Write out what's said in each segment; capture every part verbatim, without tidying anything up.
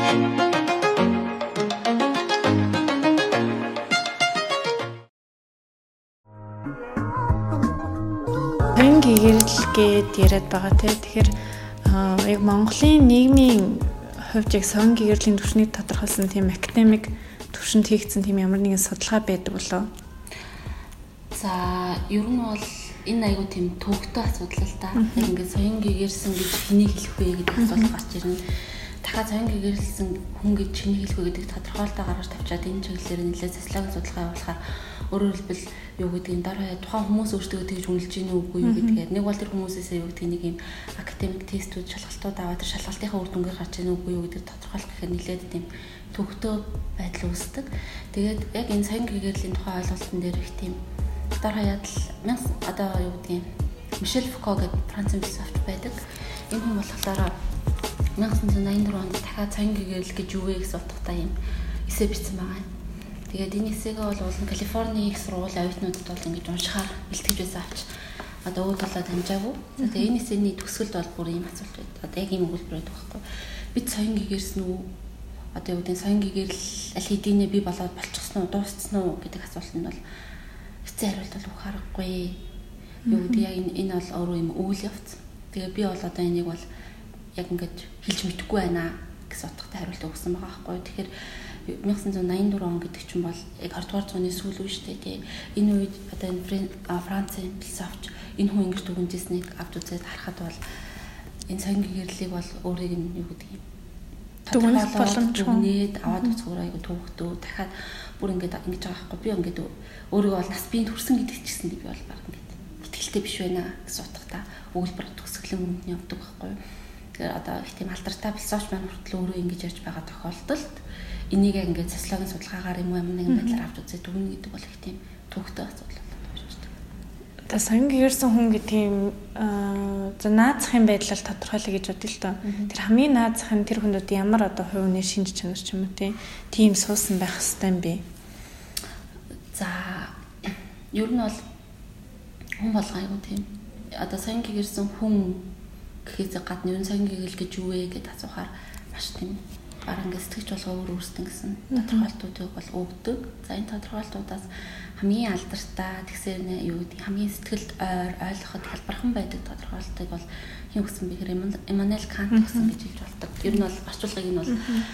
Соён гэгэрэл гээд яриад байгаа те. Тэгэхээр яг Монголын нийгмийн хувьд яг соён гэгэрлийн түвшнийг тодорхойлсон тийм академик түвшинд хийгдсэн тийм ямар нэгэн судалгаа байдаг болоо. За ер нь бол энэ айгуу тийм төвөгтэй асуудал л да. Яг ингээд соён гэгэрсэн гэж хэнийг хэлэх вэ гэдэг асуулт гарч ирнэ. Дахиад соён гэгэрсэн хүн гэж хэнийг хэлэх вэ гэдэг тодорхойлолтоо гаргаж тавьчаад энэ чиглэлээр нэлээд социологийн судалгаа явуулахаар өөрөөр хэлбэл юу гэдгийг дараа тухайн хүмүүс өөрсдөө тэгж үнэлж гин үгүй юу гэдгээр нэг бол тэр хүмүүсээс юу гэдгийг нэг юм академик тестүүд шалгалтууд аваад тэр шалгалтынхаа үр дүнгээр гарч ийн үгүй юу гэдэг тодорхойлох гэхээр нэлээд тийм төвөгтэй байдал үүсдэг. Тэгээд яг энэ соён гэгэрлийн тухай ойлголтын дээр их тийм дараа ядал мянга одоо юу гэдгийг Мишель Фуко гэдэг Францын философч байдаг. Энэ хүн болохоор найман найман дөрөв онд дахиад соён гэгэрэл гэж юу вэ гэсэн утгатай юм эссе бичсэн байгаа юм. Тэгээд энэ эссегээ бол Калифорни их сургуулийн оюутнуудад бол ингэж уншихаар бэлтгэж байсан авч одоо өөдөлөө дамжаагүй. За тэгээд энэ эссений төгсгөлд бол бүр ийм асуулт байд. Одоо яг ийм өгүүлбэр байдаг байхгүй. Бид соён гэгэрсэн үү? Одоо юу гэдэг соён гэгэрэл аль хэдийнэ би болоод болчихсон уу, дууссан уу гэдэг асуулт нь бол хэцүү хариулт бол өгөх аргагүй. Юу гэдэг яг энэ энэ бол өөрөө юм үйл явц. Тэгээд би бол одоо энийг бол яг ингэж хэлж мэдэхгүй байна гэсэн утгатай хариулт өгсөн байгаа байхгүй. Тэгэхээр найман найман дөрөв он гэдэг чинь бол яг двадцать дугаар зууны сүүл үе шүү дээ тий. Энэ үед одоо энэ Францын философч энэ хүн ингэж дүгнжсэнийг авч үзээд харахад бол энэ соён гэгэрлийг бол өөрийг нь юу гэдэг юм дүгнэх боломжгүй аваад үзгээр айгу төвөгтөө дахиад бүр ингэж ингэж байгаа байхгүй. Би ингэж өөрийгөө бол нас биеийн төрсөн гэдэг ч гэсэн би бол баг ингэж итгэлтэй биш байна гэсэн утгатай өгүүлбэр төгсгөлийн өмнө явдаг байхгүй. Тэгэхээр одоо их тийм алдартай философч маань хүртэл өөрөө ингэж ярьж байгаа тохиолдолд энийг ингээд социологийн судалгаагаар юм юм нэгэн байдлаар авч үзээд дүгнэ гэдэг бол их тийм төвөгтэй асуудал болж байна. Та соён гэгэрсэн хүн гэдэг юм за наазахын байдлаар тодорхойлъё гэж бодъё л доо. Тэр хамгийн наазах нь тэр хүнүүд ямар одоо хувь хүний шинж чанар ч юм уу тийм суусан байх хэрэгтэй юм бэ? За ер нь бол хүн болгоо айгу тийм одоо соён гэгэрсэн хүн гэхээс гадна ер нь соён гэгэрэл гэж юу вэ гэдээ асуухаар маш тийм бараг ингэ сэтгэж болгоо өөр өөрсдөн гэсэн тодорхойлтуудыг бол өгдөг. За энэ тодорхойлтуудаас хамгийн алдартай тэгсээр нэ юу гэдэг хамгийн сэтгэлд ойр ойлгоход хэлбархан байдаг тодорхойлтыг бол хин өгсөн бэхэр Иммануэл Кант өгсөн гэж хэлж болдог. Ер нь бол орчуулгыг нь бол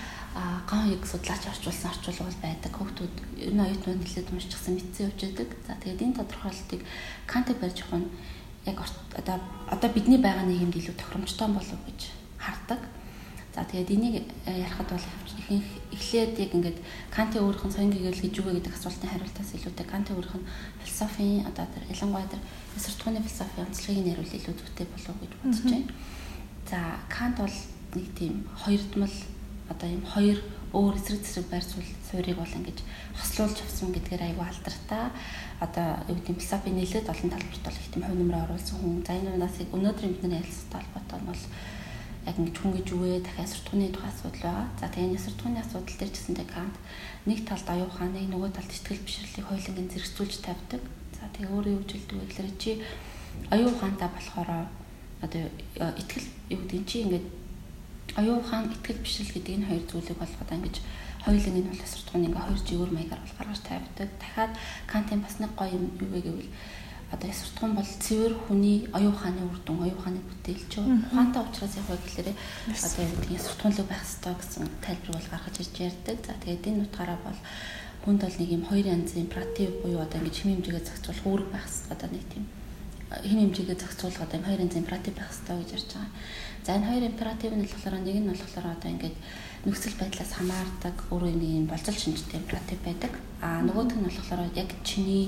а ган яг судлаач орчуулсан орчуулга бол байдаг. Хүүхдүүд ер нь оюутнууд нэлээд уншчихсан мэдсэн явж байдаг. За тэгээд энэ тодорхойлтыг Кантыг барьж явах нь яг одоо одоо бидний байгаа нийгэмд илүү тохиромжтой болов гэж хардаг. За тэгээд энийг ярихад бол ихэнх эхлээд яг ингээд Кантын өөрийнх нь соён гэгэрэл гэж юу вэ гэдэг асуултын хариултаас илүүтэй Кантын өөрийнх нь философийн одоо тэр ялангуяа тэр эсэртгүүний философийн онцлогийг нэрлэл илүү зүйтэй болов гэж бодож байна. За Кант бол нэг тийм хоёрдмал одоо юм хоёр өөр эсрэг зэрэг байр суурийг бол ингэж хослуулж авсан гэдгээр аюу алдартай. Одоо юу гэдэг философийн нэлээд олон талбарт бол их тийм хувь нэмрээ оруулсан хүн. За энэ унаас өнөөдөр бидний ярилцсан талбарт бол яг ингэж хүн гэж юу вэ дахиад эсэртгүүний тухай асуудал байгаа. За тэгээ энэ эсэртгүүний асуудал дээр ч гэсэндээ Кант нэг талд аюу хааны нөгөө талд сэтгэл бишрлийг хоёуланг зэрэгцүүлж тавьдаг. За тэгээ өөрөө юу жилдэг вэ гэхээр чи аюу хаантаа болохоор одоо итгэл юу гэдэг чи ингэж аюу хаан итгэл бишрэл гэдэг энэ хоёр зүйлийг болгоод ингэж хоёуланг нь бол эсэртгүүний ингээ хоёр жигүүр маягаар бол гаргаж тавьдаг. Дахиад Кантын бас нэг гоё юм юу вэ гэвэл одоо эсэртгүүн бол цэвэр хүний аюу хааны үр дүн, аюу хааны бүтээлч. Ухаантай учраас яг гэхээр одоо юу гэдэг эсэртгүүнлэг байх ёстой гэсэн тайлбар бол гаргаж ирж ярьдаг. За тэгээд энэ утгаараа бол хүнд бол нэг юм хоёр янзын императив буюу одоо ингэж хэм хэмжээгээ зохицуулах үүрэг байх ёстой. Одоо нэг тийм хэм хэмжээгээ зохицуулах одоо хоёр янзын императив байх ёстой гэж ярьж байгаа. За энэ хоёр императив нь болохоор нэг нь болохоор одоо ингэж нөхцөл байдлаас хамаардаг өөрөө нэг юм болцол шинжтэй императив байдаг. А нөгөөх нь болохоор яг чиний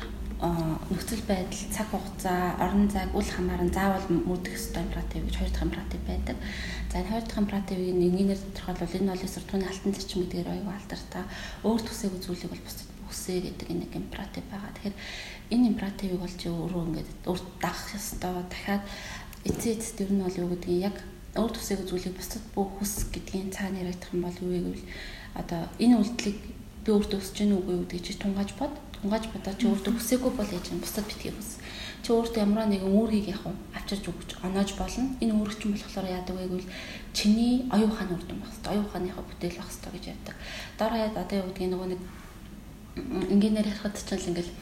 нөхцөл байдал, цаг хугацаа, орон зайг үл хамааран заавал мөрдөх ёстой императив гэж хоёр дахь императив байдаг. За энэ хоёр дахь императивыг нэгнээр тодорхойлвол энэ бол эсэртгүүний алтан зарчим гэдгээр аюу алдартай. Өөр төсөөг зүйлийг бол бусдад үсэ гэдэг нэг императив байгаа. Тэгэхээр энэ императивыг бол чи өөрөө ингээд өөрт дагах ёстой. Дахиад эцээ эцэд ер нь бол юу гэдгийг яг өөр төсөөг зүйлийг бусдад бүх хүс гэдгийн цаана яригдах юм бол юу вэ гэвэл одоо энэ үйлдэлийг би өөртөө өсөж гэнэ үгүй юу гэдэг чи тунгааж бод. тунгааж бодож чи өөртөө хүсээгүй бол яаж юм бусдад битгий хүс. Чи өөртөө ямар нэгэн үүргийг яг авчирч өгч оноож болно. Энэ үүрэг чинь болохоор яадаг вэ гэвэл чиний оюун ухааны үр дүн байх хэрэгтэй. Оюун ухааныхаа бүтээл байх хэрэгтэй гэж ярьдаг. Дараа яад одоо юу гэдгийг нөгөө нэг инженеэр ярихад ч л ингээл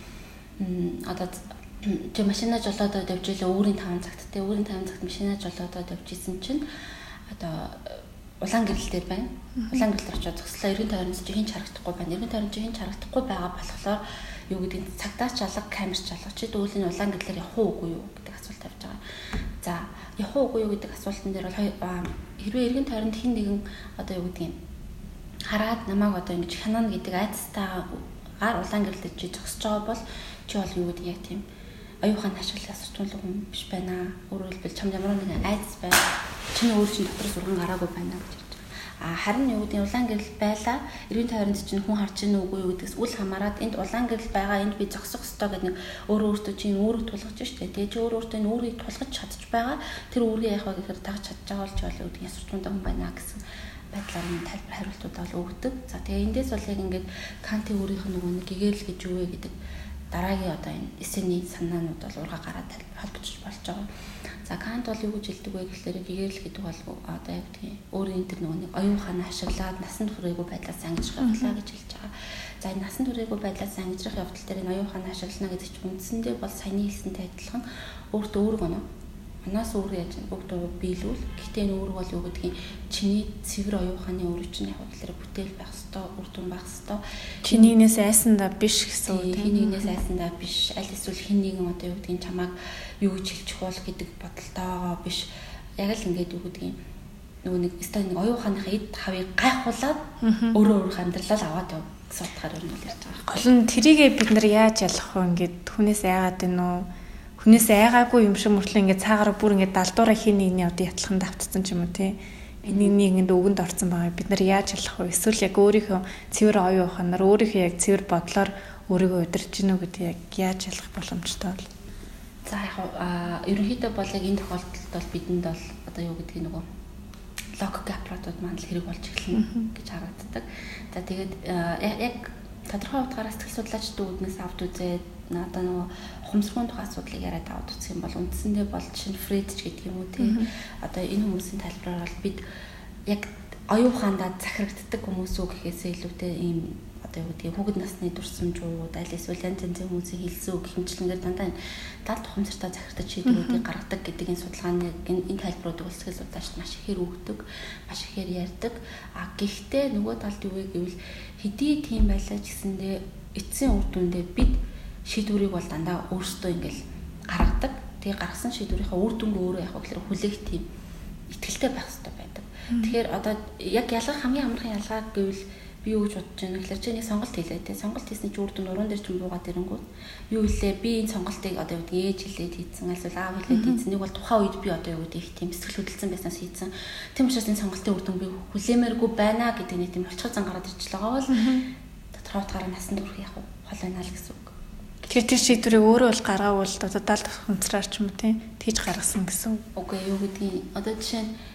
одоо чи машина жолоодод явж илээ өөрийн таван цагт те өөрийн таван цагт машина жолоодод явж исэн чинь одоо улаан гэрэл дээр байна. Улаан гэрэл дээр очиж зогслоо. Эргэн тойронд чи хин харагдахгүй байна. Эргэн тойронд чи хин харагдахгүй байгаа болохоор юу гэдэг нь цагдаач алга, камерч алга чи дүүлийн улаан гэрлээр явах уугүй юу гэдэг асуулт тавьж байгаа. За явах уугүй юу гэдэг асуултан дээр бол хэрвээ эргэн тойронд хин нэгэн одоо юу гэдэг нь хараад намайг одоо ингэж хянана гэдэг айцтайгаар улаан гэрлэлд чи зогсож байгаа бол чи бол юу гэдэг яг тийм оюухан ашиглах асуулт хүн биш байна. Өөрөөр хэлбэл чамд ямар нэгэн айц байна. Чиний өөр чинь дотор сурган гараагүй байна гэж хэлж байгаа. А харин юу гэдэг улаан гэрэл байлаа. Эргэн тойронд чинь хүн харж ийн үгүй юу гэдгээс үл хамааран энд улаан гэрэл байгаа энд би зогсох ёстой гэдэг нэг өөрөө өөртөө чинь үүрэг тулгаж штэ. Тэгээ чи өөрөө өөртөө энэ үүргийг тулгаж чадчих байгаа. Тэр үүргийг яах вэ гэхээр тагж чадж байгаа бол чи бол юу гэдэг асуултууд хүн байна гэсэн байдлаар нь тайлбар хариултуудаа бол өгдөг. За тэгээ эндээс бол яг ингээд Кантын өөрийнх нь нөгөө нэг гэгэрэл гэж юу вэ гэдэг дараагийн одоо энэ эсэний санаанууд бол ургаа гараад холбогдож болж байгаа. За Кант бол юу гэж хэлдэг вэ гэхээр гэгэрэл гэдэг бол одоо яг тийм өөрийн тэр нөгөө нэг оюун ухаанаа ашиглаад насан туршаагүй байдлаас ангижрах явдлаа гэж хэлж байгаа. За энэ насан туршаагүй байдлаас ангижрах явдал дээр энэ оюун ухаанаа ашиглана гэдэг чинь үндсэндээ бол саяны хэлсэнтэй адилхан өөртөө үүрэг оноо. Манаас өөр яаж бүгдөө биелүүл. Гэхдээ энэ үүрэг бол юу гэдгийг чиний цэвэр оюун ухааны үүрэг чинь яг гэхээр бүтээл байх ёстой, үр дүн байх ёстой. Чинийгнээс айсандаа биш гэсэн үг. Чинийгнээс айсандаа биш. Аль эсвэл хэн нэгэн одоо юу гэдгийг чамайг юу гэж хэлчих бол гэдэг бодолтойгоо биш. Яг л ингээд юу гэдгийг нөгөө нэг өстой нэг оюун ухааныхаа эд хавыг гайхуулаад өөрөө өөрийнхөө амьдралаа аваад яв гэсэн утгаар юм л ярьж байгаа. Гол нь тэрийгээ бид нар яаж ялах вэ? Ингээд хүнээс айгаад байна уу? Хүнээс айгаагүй юм шиг мөртлөө ингээд цаагаар бүр ингээд далдуураа хин нэгний одоо ятлаханд давтцсан ч юм уу те. Энийг нэгэнд өгөнд орсон байгаа. Бид нар яаж ялах вэ? Эсвэл яг өөрийнхөө цэвэр оюун ухаанаар өөрийнхөө яг цэвэр бодлоор өөрийгөө удирж гинөө гэдэг яг яаж ялах боломжтой вэ? За яг аа ерөнхийдөө бол яг энэ тохиолдолд бол бидэнд бол одоо юу гэдгийг нөгөө логик аппаратууд маань л хэрэг болж эхэлнэ гэж харагддаг. За тэгээд яг тодорхой утгаараа сэтгэл судлаачдын үүднээс авд үзээд одоо нөгөө ухамсаргүйн тухай асуудлыг яриад авд үзэх юм бол үндсэндээ бол чинь Фрейд ч гэдэг юм уу тий. Одоо энэ хүмүүсийн тайлбараар бол бид яг оюун ухаандаа захирагддаг хүмүүс үү гэхээсээ илүүтэй ийм одоо юу гэдгийг хүүхэд насны дурсамжууд аль эсвэл янз янзын хүмүүсийн хэлсэн үг хэмжлэнгээр дандаа энэ далд ухамсартай захирагдаж шийдвэрүүдийг гаргадаг гэдэг энэ судалгааны энэ тайлбаруудыг сэтгэл судлаачид маш ихээр өгдөг, маш ихээр ярьдаг. А гэхдээ нөгөө талд юу вэ гэвэл хэдий тийм байлаа ч гэсэндээ эцсийн үр дүндээ бид шийдвэрийг бол дандаа өөрсдөө ингээл гаргадаг. Тэгээ гаргасан шийдвэрийнхаа үр дүнг өөрөө яг гэхээр хүлээх тийм итгэлтэй байх хэрэгтэй байдаг. Тэгэхээр одоо яг ялгах хамгийн амархан ялгаа гэвэл би юу гэж бодож байна гэхээр чи нэг сонголт хийлээ те. Сонголт хийсний чи үр дүн уран дээр ч буугаад ирэнгүүт юу хэлээ би энэ сонголтыг одоо юу гэдэг ээж хэлээд хийсэн эсвэл аав хэлээд хийсэн нэг бол тухайн үед би одоо юу гэдэг их тийм сэтгэл хөдлөлтсөн байснаас хийсэн. Тийм учраас энэ сонголтын үр дүн би хүлээмээргүй байна гэдэг нэг тийм болчихсон зан гараад ирж байгаа бол тодорхой утгаараа насан турш яг хол байна л гэсэн үг. Тэр тэр шийдвэрийг өөрөө бол гаргаавал одоо далд ухамсараар ч юм уу тийм тийж гаргасан гэсэн үг. Үгүй юу гэдгийг одоо жишээ нь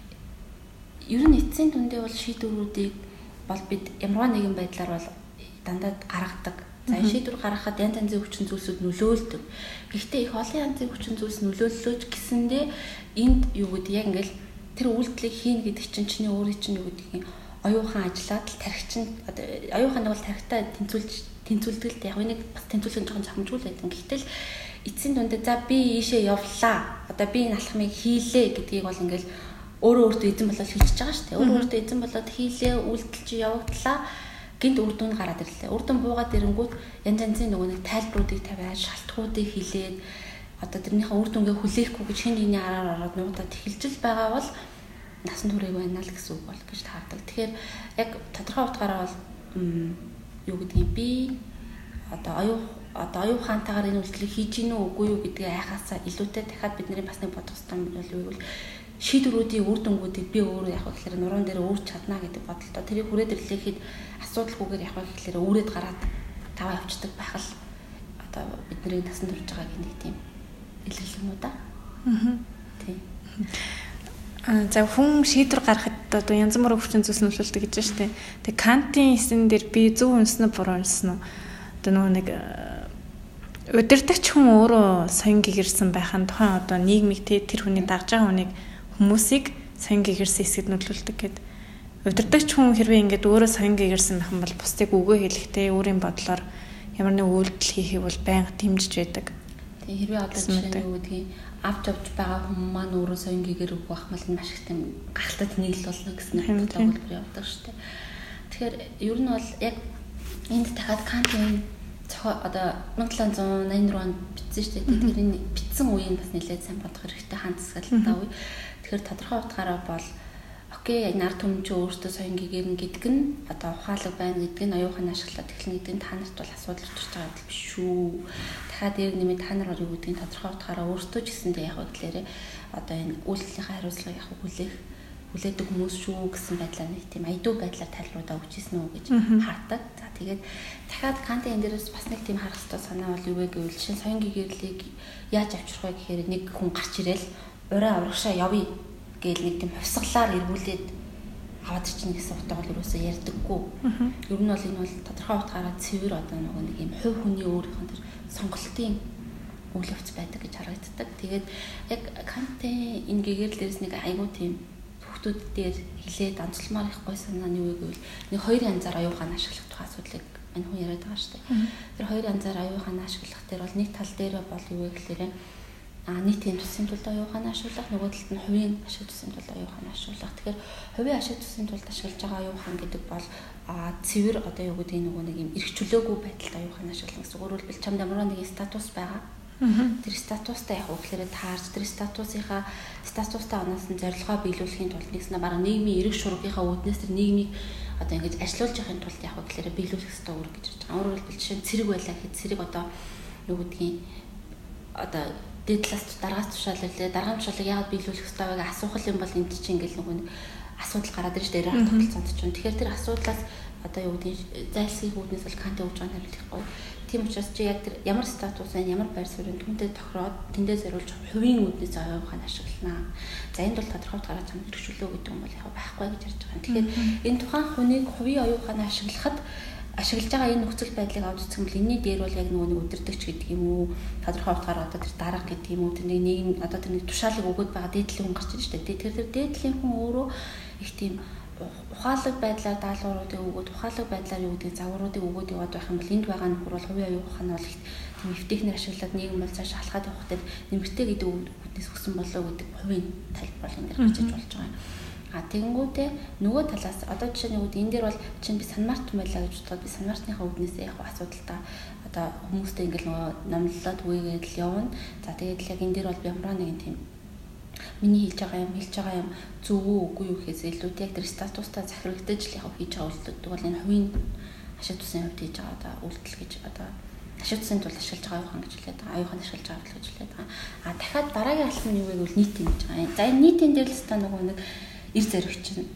ер нь эцсийн дүндээ бол шийдвэрүүдийг бол бид ямар нэгэн байдлаар бол дандаа гаргадаг. За шийдвэр гаргахад янз янзын хүчин зүйлсүүд нөлөөлдөг. Гэхдээ их олон янзын хүчин зүйлс нөлөөллөөч гэсэндээ энд юу гэдэг яг ингээл тэр үйлдэлийг хийн гэдэг чинь чиний өөрийн чинь юу гэдгийг оюун ухаан ажиллаад л тархичин одоо оюун ухааныг бол тархитаа тэнцүүлж тэнцүүлдэг л яг нэг бас тэнцүүлэх жоохон чамжгүй л байдаг. Гэтэл эцсийн дүндээ за би ийшээ явлаа. Одоо би энэ алхмыг хийлээ гэдгийг бол ингээл өөрөө өөртөө эзэн болоод хийчихэж байгаа шүү дээ. Өөрөө өөртөө эзэн болоод хийлээ, үйлдэл чи явагдлаа. Гинт үр дүн гараад ирлээ. Үр дүн буугаад ирэнгүүт янз янзын нөгөө нэг тайлбаруудыг тавиад, шалтгауудыг хэлээд одоо тэрнийхээ үр дүнгээ хүлээхгүй гэж хэн нэгний араар ороод нуудаад эхэлж байгаа бол насан туршиг байна л гэсэн үг бол гэж таардаг. Тэгэхээр яг тодорхой утгаараа бол юу гэдгийг би одоо оюун одоо оюун ухаантайгаар энэ үйлдэлийг хийж гинүү үгүй юу гэдгийг айхаасаа илүүтэй дахиад бидний бас нэг бодох хэрэгтэй юм бол юу гэвэл шийдвэрүүдийн үр дүнгуудыг би өөрөө яг гэхээр нуруунд дээр өөрч чадна гэдэг бодолтой тэрийг хүрээд ирлэхэд асуудалгүйгээр яг гэхээр өөрөөд гараад таваа явцдаг байх л одоо бидний насан турш байгаа гэх тийм илэрлэг юм уу да. Аа. Тийм. А за хүн шийдвэр гаргахад одоо янз бүрийн хүчин зүйлс нөлөөлдөг гэж байна шүү дээ. Тэгээ Кантын эсэн дээр би зөв үнсэн нь буруу үнсэн нь одоо нөгөө нэг удирдахч хүн өөрөө соён гэгэрсэн байхын тухайн одоо нийгмийг тэр хүний дагж байгаа хүнийг хүмүүсийг соён гэгэрсэн хэсэгт нөлөөлдөг гэдэг. Удирдахч хүн хэрвээ ингээд өөрөө соён гэгэрсэн байх юм бол бусдыг үгөө хэлэхдээ өөрийн бодлоор ямар нэг үйлдэл хийхийг бол байнга дэмжиж байдаг. Тэгээ хэрвээ одоо жишээ нь юу гэдгийг авч авч байгаа хүмүүс маань өөрөө соён гэгэр үг байх мал маш их тийм гахалтад нийл болно гэсэн төгөлбөр явдаг шүү дээ. Тэгэхээр ер нь бол яг энд дахиад Кантын одоо мянга талын зуун найман дөрөв онд бичсэн шүү дээ. Тэгэхээр энэ бичсэн үеийг бас нэлээд сайн бодох хэрэгтэй хаан засаглалтаа үе. Тэгэхээр тодорхой утгаараа бол окей нар төмч өөртөө соён гэгэрнэ гэдэг нь одоо ухаалаг байна гэдэг нь оюухан ашиглаад эхлэн гэдэг нь та нарт бол асуудал учирч байгаа биш шүү. Дахиад дээр нэмээд та нар юу гэдгийг тодорхой утгаараа өөртөө ч гэсэндээ яг гэхлээрээ одоо энэ үйлчлэлийн хариуцлагыг яг хүлээх хүлээдэг хүмүүс шүү гэсэн байдлаар нэг тийм айдуу байдлаар тайлбаруудаа өгчээсэн үү гэж хаадаг. За тэгээд дахиад Кантын энэ дээрээс бас нэг тийм харах хэрэгтэй санаа бол юу вэ гэвэл жишээ соён гэгэрлийг яаж авчрах вэ гэхээр нэг хүн гарч ирээл ураа урагшаа явъя гээл нэг тийм хувьсгалаар эргүүлээд аваад чинь гэсэн утга бол юусоо ярьдаггүй. Ер нь бол энэ бол тодорхой утгаараа цэвэр одоо нөгөө нэг юм хувь хүний өөрийнх нь тэр сонголтын үйл явц байдаг гэж харагддаг. Тэгээд яг Кантын энэ гэгэрлэл дээрээс нэг айгуу тийм хүүхдүүд дээр хилээд онцлмоор их гой санаа нь юу гэвэл нэг хоёр янзаар оюухан ашиглах тухай асуудлыг энэ хүн яриад байгаа шүү дээ. Тэр хоёр янзаар оюухан ашиглах дээр бол нэг тал дээр бол юу вэ гэхээр а нийтийн төсвийн тулд оюухан ашиглах, нөгөө талд нь хувийн ашиг төсвийн тулд оюухан ашиглах. Тэгэхээр хувийн ашиг төсвийн тулд ашиглаж байгаа оюухан гэдэг бол а цэвэр одоо юу гэдэг нөгөө нэг юм эрх чөлөөгүй байдалд оюухан ашиглах гэсэн. Өөрөөр хэлбэл чамд ямар нэгэн статус байгаа. Тэр статустай яг үгээр таарч тэр статусынхаа статустай оноос нь зорилгоо биелүүлэхийн тулд нэгснэ бараг нийгмийн эрх шуургийнхаа үүднээс тэр нийгмийг одоо ингэж ажилуулж явахын тулд яг үгээр биелүүлэх хэрэгтэй үүрэг гэж байна. Өөрөөр хэлбэл жишээ нь цэрэг байлаа гэхэд цэрэг одоо юу гэдгийг одоо дээд талаас дараагаас тушааллаа дараагийн тушаалыг яагаад биелүүлэх хэрэгтэй вэ гэж асуух юм бол энд чинь ингээл нөгөө нэг асуудал гараад ирж дээр арга тогтолцоонд ч юм. Тэгэхээр тэр асуудлаас одоо юу гэдгийг зайлсхийх үүднээс бол Кант өгж байгаа нь хэлэхгүй. Тийм учраас чи яг тэр ямар статус байна, ямар байр суурь түүнтэй тохироод тэндээ зориулж хувийн үүднээс оюухан ашиглана. За энд бол тодорхой утгаараа чамд хэрэгжүүлөө гэдэг юм бол яг байхгүй гэж ярьж байгаа. Тэгэхээр энэ тухайн хүнийг хувийн оюухан ашиглахад ашиглаж байгаа энэ нөхцөл байдлыг авч үзэх юм бол энэний дээр бол яг нөгөө нэг өдөртөгч гэдэг юм уу, тодорхой утгаараа одоо тэр дарга гэдэг юм уу, тэр нэг нийгэм одоо тэр нэг тушаалыг өгöd байгаа дээдлийн хүн гарч ирж штэ. Тэр тэр дээдлийн хүн өөрөө их тийм ухаалаг байдлаар даалгавруудыг өгöd, ухаалаг байдлаар юу гэдэг загваруудыг өгöd яваад байх юм бол энд байгаа нөхөр бол хувийн оюухан нь бол их тийм эвтэхнэр ашиглаад нийгэм бол цааш халахад явах гэдэг нэмэртэй гэдэг үгнээс өгсөн болоо гэдэг хувийн тайлбар энэ дэр гарч иж болж байгаа юм. А тэгэнгүүтээ нөгөө талаас одоо жишээ нь энэ дээр бол чинь би санмарт байлаа гэж бодоход би санмартныхаа үүднээс яг асуудалтай одоо хүмүүстэй ингээл нөгөө номлолоо түгээгээд л явна. За тэгээд л яг энэ дээр бол би ямар нэгэн тийм миний хэлж байгаа юм хэлж байгаа юм зөв үү үгүй юу гэхээс илүү яг тэр статустай захирагдаж л яг хийж байгаа үйлдэлүүд бол энэ хувийн ашиг тусын хувьд хийж байгаа одоо үйлдэл гэж одоо ашиг тусын тул ашиглаж байгаа оюухан гэж хэлээд байгаа. Оюухан ашиглаж байгаа гэж хэлээд байгаа. А дахиад дараагийн албан нь юу вэ гэвэл нийтийн гэж байгаа. За энэ нийтийн дээр л та нөгөө нэг эр зориг чинь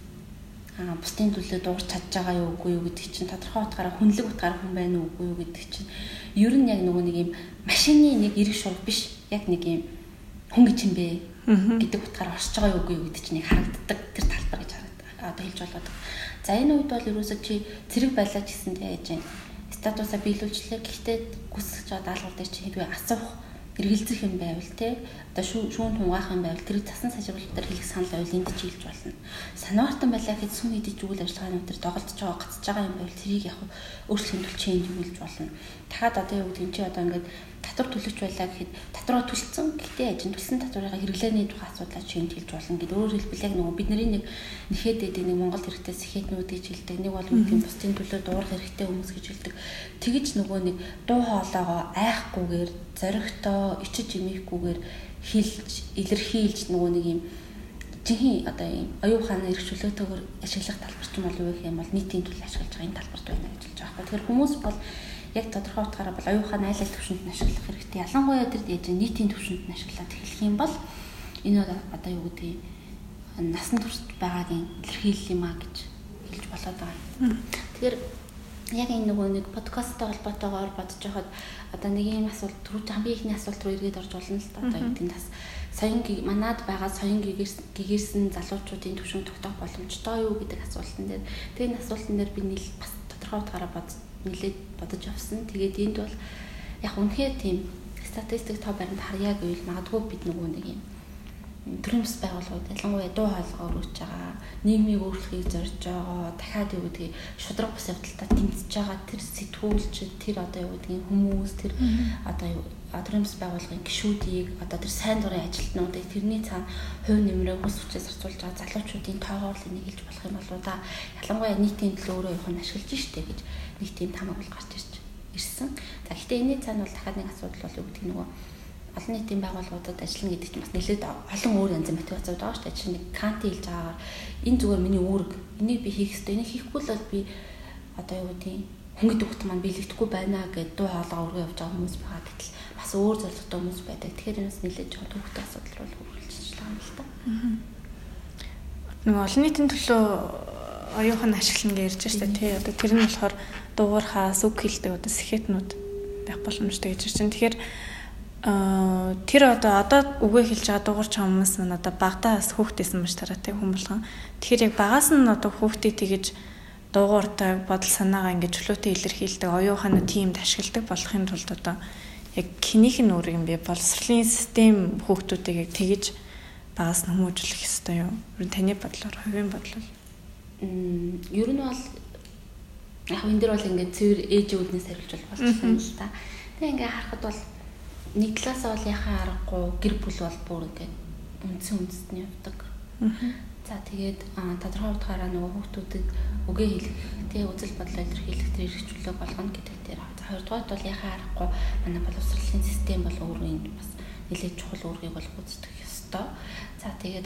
аа бусдын төлөө дуурч чадж байгаа юу үгүй юу гэдэг чинь тодорхой утгаараа хүнлэг утгаар хүн байна уу үгүй юу гэдэг чинь ер нь яг нөгөө нэг юм машины нэг эрэг шуурга биш яг нэг юм хүн гэж юм бэ гэдэг утгаараа оршиж байгаа юу үгүй юу гэдэг чинь нэг харагддаг тэр талбар гэж харагддаг. Одоо хэлж болоод. За энэ үед бол ерөөсөө чи цэрэг байлаач гэсэндээ яаж юм статусаа биелүүлчлээ. Гэхдээ хүсэж байгаа даалгавар дээр чи хэдвээ асуух эргэлзэх юм байвал те одоо шүүн хунгаах юм байвал тэр цасан сажруулалтаар хэлэх санал байвал энд ч хэлж болно. Санаартан байлаа гэхэд сүм идэж үйл ажиллагааны өдөр доголдож байгаа гацж байгаа юм байвал тэрийг яг өөрчлөлт хэмжүүлж change хэлж болно. Дахиад одоо юу гэдэг нь чи одоо ингээд татвар төлөгч байлаа гэхэд татвараа төлсөн гэхдээ ажин төлсөн татварыг хэрэглээний тухай асуудлаа change хэлж болно гэдэг. Өөрөөр хэлбэл яг нөгөө бидний нэг нэхэд дэдэг нэг Монгол хэрэгтэй сэхэтнүүд гэж хэлдэг. Нэг бол үгүй бусдын төлөө дуурах хэрэгтэй хүмүүс гэж хэлдэг. Тэгэж нөгөө нэг дуу хоолойгоо айхгүйгээр зоригтой ичиж имихгүйгээр хэлж илэрхийлж нөгөө нэг юм жинхэнэ одоо юм оюуханы эрх чөлөөтэйгээр ашиглах талбар ч юм бол юу гэх юм бол нийтийн төлөв ашиглаж байгаа энэ талбарт байна гэж хэлж байгаа. Тэгэхээр хүмүүс бол яг тодорхой утгаараа бол оюуханы айл ал төвшөнд нь ашиглах хэрэгтэй. Ялангуяа тэр дэж нийтийн төвшөнд нь ашиглаад эхлэх юм бол энэ одоо юу гэдэг насан туршид байгаагийн илэрхийлэл юм а гэж хэлж болоод байгаа. Тэгэхээр яг энэ нөгөө нэг подкасттай холбоотойгоор бодож байхад одоо нэг юм асуулт түрүү хамгийн ихний асуулт руу эргээд орж болно л та одоо юу гэдэг нь бас соён манад байгаа соён гэгэрсэн залуучуудын төвшин тогтоох боломжтой юу гэдэг асуултан дээр тэгээ энэ асуултан дээр би нийл бас тодорхой утгаараа бод нэлээд бодож авсан. Тэгээд энд бол яг үнэхээр тийм статистик тоо баримт харьяа гэвэл магадгүй бид нөгөө нэг юм төрийн бас байгууллагууд ялангуяа дуу хоолой өргөж байгаа, нийгмийг өөрчлөхийг зорж байгаа, дахиад юу гэдгийг шудраг бас явдалтай тэмцэж байгаа тэр сэтгүүлч, тэр одоо юу гэдгийг хүмүүс, тэр одоо юу төрийн бас байгууллагын гишүүдийг одоо тэр сайн дурын ажилтнуудыг тэрний цаана хувь нэмрээ хүс хүчээр зарцуулж байгаа залуучуудын тоогоор л энийг хэлж болох юм болоо да. Ялангуяа нийтийн төлөө өөрөө явах нь ашиглаж штэ гэж нэг тийм тамаг бол гарч ирж ирсэн. За гэхдээ энэний цаана бол дахиад нэг асуудал бол юу гэдгийг нөгөө олон нийтийн байгууллагуудад ажиллана гэдэг чинь бас нэлээд олон өөр янзын мотивацууд байгаа шүү дээ. Жишээ нь Канти хэлж байгаагаар энэ зүгээр миний үүрэг. Энийг би хийх ёстой. Энийг хийхгүй л би одоо юу гэдгийг хөнгөд өгт маань биелэгдэхгүй байна гэд дуу хоолой өргөө явж байгаа хүмүүс байгаа гэтэл бас өөр зорилготой хүмүүс байдаг. Тэгэхээр энэс нэлээд жоохон төвөгтэй асуудал руу хөрвүүлж байгаа юм л та. Нөгөө олон нийтийн төлөө оюухан ашиглана гэж ярьж штэ тий. Одоо тэр нь болохоор дуугархаас үг хэлдэг одоо сэхэтнүүд байх боломжтой гэж чинь. Тэгэхээр а тэр одоо одоо үгээ хэлж байгаа дуурч хүмүүс нь одоо багтаас хүүхдээсэн маш таратай хүн болгон. Тэгэхээр яг багаас нь одоо хүүхдээ тэгэж дуугартай бодол санаагаа ингэж чөлөөтэй илэрхийлдэг оюуханы тиймд ашигладаг болохын тулд одоо яг хинийх нь өөр юм бэ? Боловсролын систем хүүхдүүдийг яг тэгэж багаас нь хүмүүжүүлэх ёстой юу? Ер нь таны бодлоор, хувийн бодлоор. М ер нь бол яг энэ дэр бол ингээд цэвэр ээжүүднээс хариулж болчихсон юм л та. Тэгээ ингээд харахад бол нэг талаасаа бол яхаа аргагүй гэр бүл бол бүр ингээд үндсэн үндэстэн явдаг. За тэгээд тодорхой утгаараа нөгөө хүүхдүүдэд үгээ хэлэх, тэгээ үзэл бодлоо илэрхийлэх тэр эрхчлөлөө болгоно гэдэг дээр. За хоёрдугаарт бол яхаа аргагүй манай боловсролын систем бол өөрөө энд бас нэлээд чухал үүргийг бол гүйцэтгэх ёстой. За тэгээд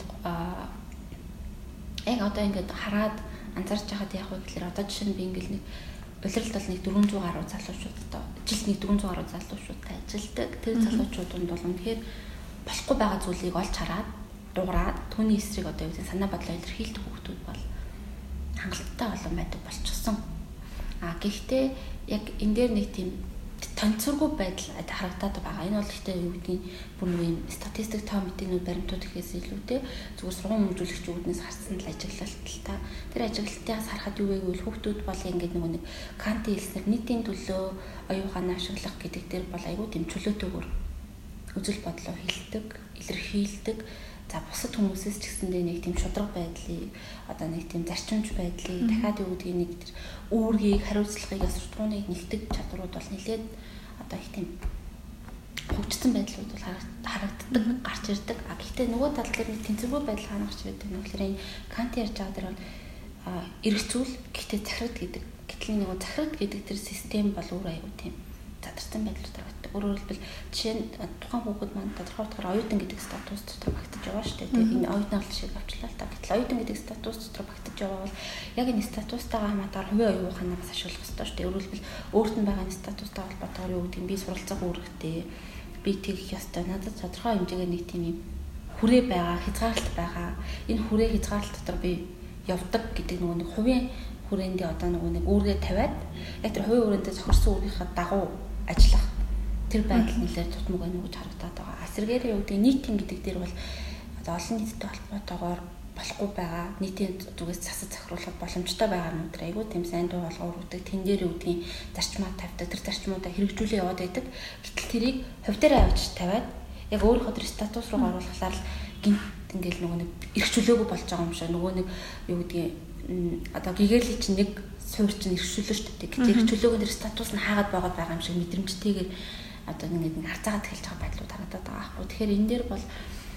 яг одоо ингээд хараад анзаарч байхад яг вэ гэхээр одоо жишээ нь би ингээд нэг улиралд бол нэг дөрвөн зуун гаруй залуучуудтай жилд нэг дөрвөн зуун гаруй залуучуудтай ажилдаг. Тэр залуучуудад бол үнэхээр болохгүй байгаа зүйлийг олж хараад дуурайд түүний эсрэг одоо юу гэдэг санаа бодлоо илэрхийлдэг хүмүүс бол хангалттай болон байдаг болчихсон. А гэхдээ яг энэ дээр нэг тийм тонцоргүй байдал харагдаад байгаа. Энэ бол ихтэй юу гэдгийг бүр нэг юм статистик тоо мэдээний баримтууд гэхээс илүүтэй зүгээр сургууль хөгжүүлэгчүүднээс харсан л ажиглалт л та. Тэр ажиглалтаас харахад юу вэ гэвэл хүүхдүүд бол ингээд нөгөө нэг Канти хэлснээр нийтийн төлөө оюуханаа ашиглах гэдэг дээр бол айгүй тийм чөлөөтэйгээр үзэл бодлоо хэлдэг, илэрхийлдэг. За бусад хүмүүсээс ч гэсэндээ нэг тийм шудраг байдлыг одоо нэг тийм зарчимч байдлыг дахиад юу гэдгийг нэг тэр үүргийг хариуцлагыг суртахууныг нэгтгэж чадрууд бол нэлээд одоо их тийм хөгжсөн байдлууд бол харагддаг, гарч ирдэг. А гэхдээ нөгөө тал дээр нэг тэнцвэргүй байдал хаана гарч ирдэг нь болохоор энэ Канти ярьж байгаа дээр бол эргэцүүл гэхдээ захирагд гэдэг. Гэтэл нөгөө захирагд гэдэг тэр систем бол өөр аюу тийм задарсан байдлууд байгаа. Өөрөөр хэлбэл жишээ нь тухайн хүүхэд маань тодорхой утгаар оюутан гэдэг статус дотор багтаж байгаа шүү дээ. Тэгээ энэ оюутан бол шиг авчлаа л та. Гэтэл оюутан гэдэг статус дотор багтаж байгаа бол яг энэ статустайгаа хамаагаар хувийн оюуханаа бас ашиглах хэрэгтэй шүү дээ. Өөрөөр хэлбэл өөрт нь байгаа энэ статустай холбоотойгоор юу гэдэг нь би суралцах үүрэгтэй, би тэгэх ёстой. Надад тодорхой хэмжээгээр нэг тийм юм хүрээ байгаа, хязгаарлалт байгаа. Энэ хүрээ хязгаарлалт дотор би явдаг гэдэг нөгөө нэг хувийн хүрээндээ одоо нөгөө нэг үүргээ тавиад яг тэр хувийн хүрээндээ зохирсон үүргийнхаа дагуу ажиллах тэр байдал нэлээд тутмаг байна гэж харагдаад байгаа. Асэргээрээ юу гэдэг нийтийн гэдэг дээр бол одоо олон нийтэд холбоотойгоор болохгүй байгаа. Нийтийн зүгээс засаж захируулах боломжтой байгаа юм дээр айгүй тийм сайн дуу болгоо өргөдөг. Тэн дээр юу гэдгийг зарчмаа тавьдаг. Тэр зарчмуудаа хэрэгжүүлээ яваад байдаг. Гэтэл тэрийг хувь дээр авч тавиад яг өөрийнхөө тэр статус руу оруулахлаар л гинт ингээл нөгөө нэг эрх чөлөөгүй болж байгаа юм шиг нөгөө нэг юу гэдгийг одоо гэгэрлийн чинь нэг суур чинь эрх чөлөө шүү дээ. Гэтэл эрх чөлөөгийн тэр статус нь хаагаад байгаад байгаа юм шиг мэдрэмжтэйгээр одоо ингээд нэг харцаагаад эхэлж байгаа байдлууд харагдаад байгаа аахгүй. Тэгэхээр энэ дээр бол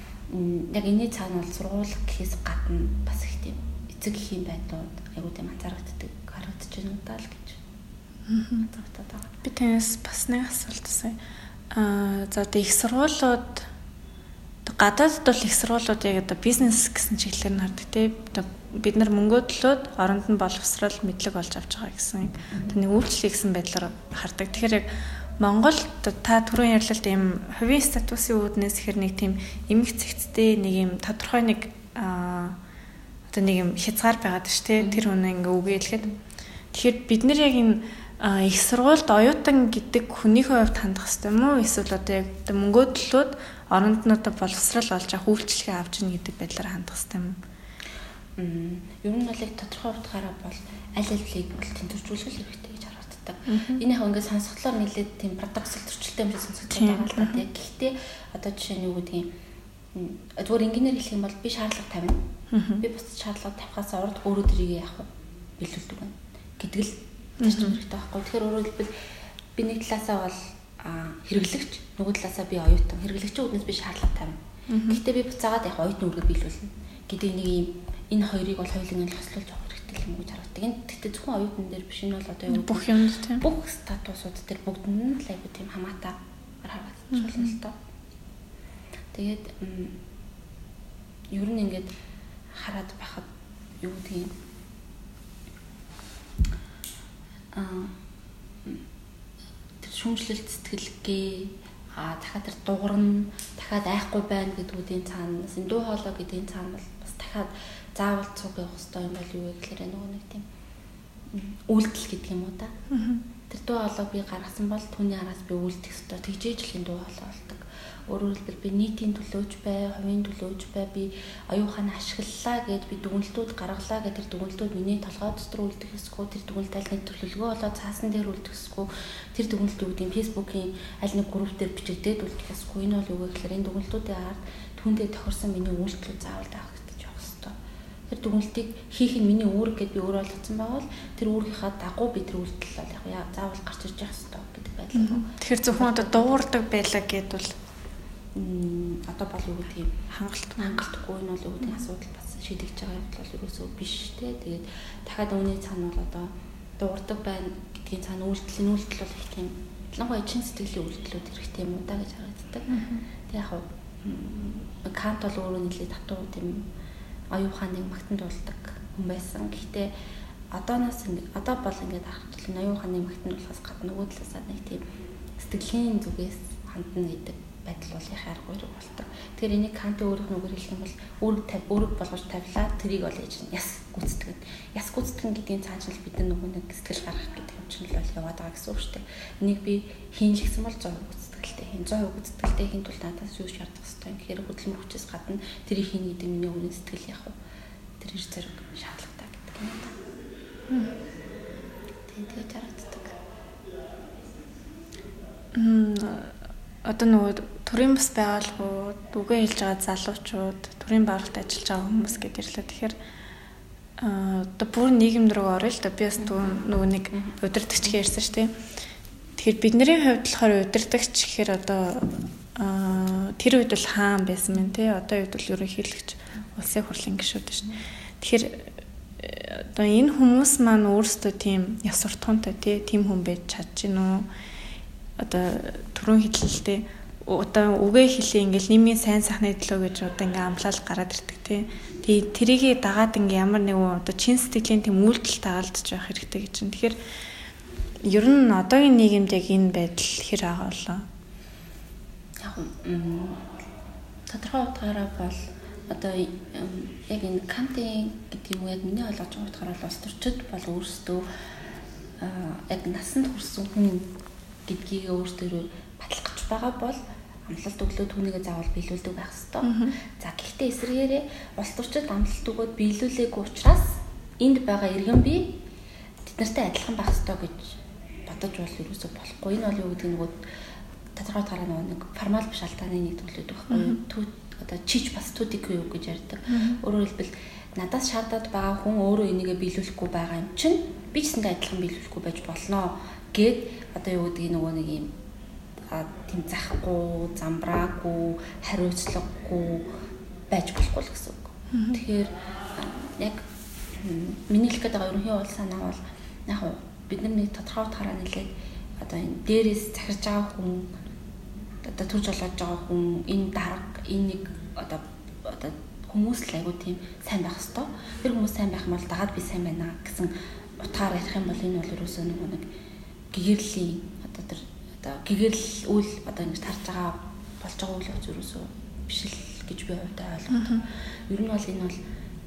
яг энэний цаана бол сургууль гэхээс гадна бас их тийм эцэг эхийн байдлууд айгуу тийм анзаарэгддэг харагдаж байна удаа л гэж. Аа. байгаа. Би танаас бас нэг асуулт асууя. Аа за одоо их сургуулиуд гадаадд бол их сургуулиуд яг одоо бизнес гэсэн чиглэлээр нь хардаг тийм. Одоо бид нар мөнгөө төлөөд оронд нь боловсрал мэдлэг олж авч байгаа гэсэн нэг үйлчлэл гэсэн байдлаар хардаг. Тэгэхээр яг Монголд та түрүүн ярьлалт ийм хувийн статусын үүднээс ихэр нэг тийм эмх цэгцтэй нэг юм тодорхой нэг аа одоо нэг юм хязгаар байгаад ш тэ тэр хүн ингээ үгээлэхэд тэгэхээр бид нар яг энэ их сургуульд оюутан гэдэг хүнийхээ хувьд хандах хэрэгтэй юм уу эсвэл одоо яг мөнгөө төлөөд оронд нь одоо боловсрал олж авах үйлчлэгээ авч ийн гэдэг байдлаар хандах хэрэгтэй юм. Мм ер нь бол яг тодорхой утгаараа бол аль алийг бол тэнцвэржүүлэх хэрэгтэй гэж харагддаг. харагддаг. Энэ яг ингээд сонсголоор нэлээд тийм парадоксал төрчлөлтэй юм шиг сонсогдож байгаа л да. Гэхдээ одоо жишээ нь юу гэдгийг зүгээр инженеэр хэлэх юм бол би шаардлага тавина. Би бусад шаардлага тавихаас урд өөрөө тэрийг яах вэ? Биелүүлдэг байна гэдэг л зарчим хэрэгтэй байхгүй. Тэгэхээр өөрөөр хэлбэл би нэг талаасаа бол хэрэглэгч, нөгөө талаасаа би оюутан. Хэрэглэгчийн үднээс би шаардлага тавина. Гэхдээ би буцаагаад яг оюутны үргээ биелүүлнэ гэдэг нэг юм энэ хоёрыг бол хоёулын нь хослуулж авах хэрэгтэй юм гэж харагддаг. Энэ гэхдээ зөвхөн оюутан дээр биш, энэ бол одоо юу бүх юмд тийм бүх статусууд дээр бүгдэнд л айгуу тийм хамаатай харагдаж байна л доо. Тэгээд ер нь ингээд хараад байхад юу гэдгийг аа тэр шүүмжлэлт сэтгэлгээ а дахиад тэр дуурна дахиад айхгүй байна гэдгүүдийн цаанаас энэ дуу хоолой гэдгийн цаана бол бас дахиад заавал цуг явах хэрэгтэй юм бол юу вэ гэхээр нөгөө нэг тийм үйлдэл гэдэг юм уу та. Тэр дуу хоолой би гаргасан бол түүний араас би үйлдэх хэрэгтэй тэгжээж л энэ дуу хоолой болдог. Өөрөөр хэлбэл би нийтийн төлөөч бай, хувийн төлөөч бай, би оюуханаа ашиглалаа гэд би дүгнэлтүүд гаргалаа гэд тэр дүгнэлтүүд миний толгой дотор үлдэх хэсгүү, тэр дүгнэлт аль нэг төлөвлөгөө болоод цаасан дээр үлдэх хэсгүү, тэр дүгнэлт юу гэдэг нь фэйсбүүкийн аль нэг групп дээр бичигдээд үлдэх хэсгүү. Энэ бол юу вэ гэхээр энэ дүгнэлтүүдийн ард түүндээ тохирсон миний үйлдэлүүд заавал даагдаж явах хэрэгтэй. Тэр дүгнэлтийг хийх нь миний үүрэг гэд би өөрөө ойлгоцсон байвал тэр үүргийнхаа дагуу би тэр үйлдэл бол яг заавал гарч ирж явах хэрэгтэй гэдэг байдлаар. Тэгэхээр зөвхөн одоо дуурдаг байлаа гэдвэл одоо бол юу гэдэг юм хангалттай хангалтгүй энэ бол юу гэдэг асуудал бас шийдэгдэж байгаа юм бол ерөөсөө биш те. Тэгээд дахиад үүний цаана бол одоо дуурдаг байна гэдгийн цаана үйлдэл нь үйлдэл бол их тийм ялангуяа чин сэтгэлийн үйлдэлүүд хэрэгтэй юм уу да гэж харагддаг. Тэг яг нь Кант бол өөрөө нэлээд татуу тийм оюуханыг магтанд дуулдаг хүн байсан. Гэхдээ одооноос ингэ одоо бол ингээд харахад оюуханыг магтанд болохоос гадна нөгөө талаасаа нэг тийм сэтгэлийн зүгээс хандна гэдэг байдал бол их аргагүй болдог. Тэгэхээр энийг Кант өөрөөх нь үгээр хэлэх юм бол үүрэг тавь үүрэг болгож тавилаа тэрийг бол ээж нь яс гүйцэтгэн. Яс гүйцэтгэн гэдгийн цаанчил бид нар нөгөө нэг сэтгэл гаргах гэдэг юм чинь л яваад байгаа гэсэн үг шүү дээ. Энийг би хийн шигсэн бол зоо гүйцэтгэлтэй хийн. Зоо гүйцэтгэлтэй хийн тул надаас юу шаардах хэрэгтэй. Тэгэхээр хөдөлмөр хүчээс гадна тэрийг хийн гэдэг миний өмнө сэтгэл яах вэ? Тэр их зэрэг шаардлагатай гэдэг юм да. Тэгээд харагддаг. Мм одоо нөгөө төрийн бас байгууллагууд үгээ хэлж байгаа залуучууд төрийн байгууллагад ажиллаж байгаа хүмүүс гэдээ ирлээ. Тэгэхээр одоо бүр нийгэм рүү орё л да би бас нөгөө нэг удирдахч ярьсан шүү дээ. Тэгэхээр бидний хувьд болохоор удирдахч гэхээр одоо тэр үед бол хаан байсан мэн тий. Одоо үед бол ерөнхийлөгч улсын хурлын гишүүд шүү. Тэгэхээр одоо энэ хүмүүс маань өөрсдөө тийм яс суртахуунтай тий тийм хүн байж чадж гин үү? Одоо түрүүн хэллээ одоо үгээ хэлээ ингээл нэмийн сайн сайхны төлөө гэж одоо ингээм амлал гараад ирдэг тий. Тэгээ тэрийг дагаад ингээм ямар нэгэн одоо чин сэтгэлийн тийм үйлдэл тагалдж байх хэрэгтэй гэж чинь. Тэгэхээр ер нь одоогийн нийгэмд яг энэ байдал хэр байгаа болоо? Яг тодорхой утгаараа бол одоо яг энэ Кантын гэдэг юм яг миний ойлгож байгаа утгаараа бол улс төрчид бол өөрсдөө яг насанд хүрсэн хүн гэдгийг өөртөө батлах гэж байгаа бол амлалт өглөө түүнийгээ заавал биелүүлдэг байх хэвээр. За гэхдээ эсрэгээрээ улс төрчид амлалт өгөөд биелүүлээгүй учраас энд байгаа иргэн бий тэднэртэй адилхан байх хэвээр гэж бодож бол юусоо болохгүй. Энэ бол юу гэдэг нөгөө тодорхой тараа нэг формал биш алдааны нэг төлөвлөд байхгүй. Одоо чич бас түдик юу гэж ярьдаг. Өөрөөр хэлбэл надаас шаардаад байгаа хүн өөрөө энийгээ биелүүлэхгүй байгаа юм чинь би ч гэсэн адилхан биелүүлэхгүй байж болно гэд одоо юу гэдэг нөгөө нэг юм тийм захгүй, замбраагүй, хариуцлагагүй байж болохгүй л гэсэн үг. Тэгэхээр яг миний хэлэх гээд байгаа ерөнхий уул санаа бол яг бидний тодорхой утгаараа нэлээд одоо энэ дээрээс захирж байгаа хүн одоо төрж олоод байгаа хүн энэ дарга энэ нэг одоо одоо хүмүүс л айгуу тийм сайн байх хэвээр. Тэр хүмүүс сайн байх юм бол дагаад би сайн байна гэсэн утгаар ярих юм бол энэ бол ерөөсөө нөгөө нэг гэгэрлийн одоо тэр одоо гэгэрл үйл одоо ингэж тарж байгаа болж байгаа үйл явц ерөөсөө биш л гэж би хувьдаа ойлгодог. Ер нь бол энэ бол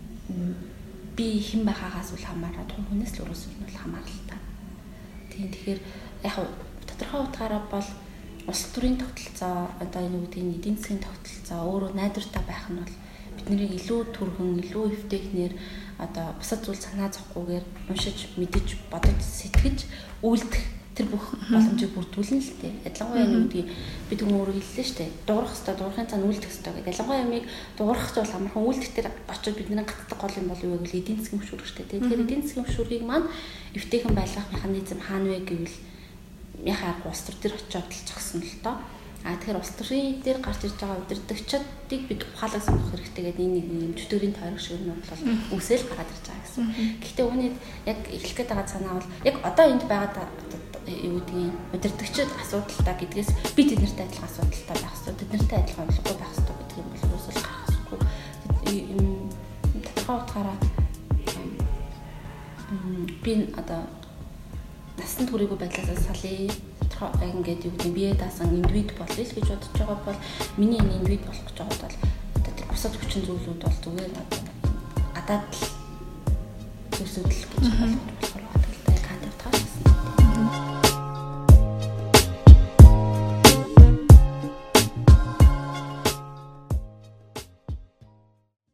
би хэн байгаагаас үл хамааран том хүнээс л ерөөсөө нь бол хамааралтай. Тийм тэгэхээр яг тодорхой утгаараа бол улс төрийн тогтолцоо одоо энэ үеийн эдийн засгийн тогтолцоо өөрөө найдвартай байх нь бол биднийг илүү түргэн, илүү эвтэйхнэр одоо бусад зүйл санаа зовхгүйгээр уншиж, мэдэж, бодож, сэтгэж, үйлдэх тэр бүх боломжийг бүрдүүлнэ л дээ. Ялангуяа нэг үгдгийг бид өөрөө хэллээ шүү дээ. Дуурах хэвээр, дуурахын цаана үйлдэх хэвээр гэдэг. Ялангуяа юмыг дуурах ч бол амархан үйлдэх тэр очоод бидний гацдаг гол юм бол юу вэ гэвэл эдийн засгийн хөшүүрэг шүү дээ. Тэгэхээр эдийн засгийн хөшүүргийг маань эвтэйхэн байлгах механизм хаана вэ гэвэл яхаа улс төр дээр очиод л зогсно л доо. А тэгэхээр улс төрийн дээр гарч ирж байгаа удирдагчдыг бид ухаалаг сонгох хэрэгтэй гэдэг энэ нэг юм чөтгөрийн тойрог шиг юм бол үсэл гараад ирж байгаа гэсэн. Гэхдээ үүний яг эхлэх гээд байгаа санаа бол яг одоо энд байгаа юу гэдгийг удирдагчид асуудалтай гэдгээс би тэднэртэй адилхан асуудалтай байх хэрэгтэй, тэднэртэй адилхан орлоготой байх хэрэгтэй гэдэг юм бол үсэл гарах хэрэггүй. Тодорхой утгаараа би одоо насан туршаагүй байдлаас салъя ингээд юу гэдэг бие даасан индивид болъё л гэж бодож байгаа бол миний энэ индивид болох гэж байгаа бол одоо тэр бусад хүчин зүйлүүд бол зүгээр гадаад л зүйлсүүд л гэж ойлгож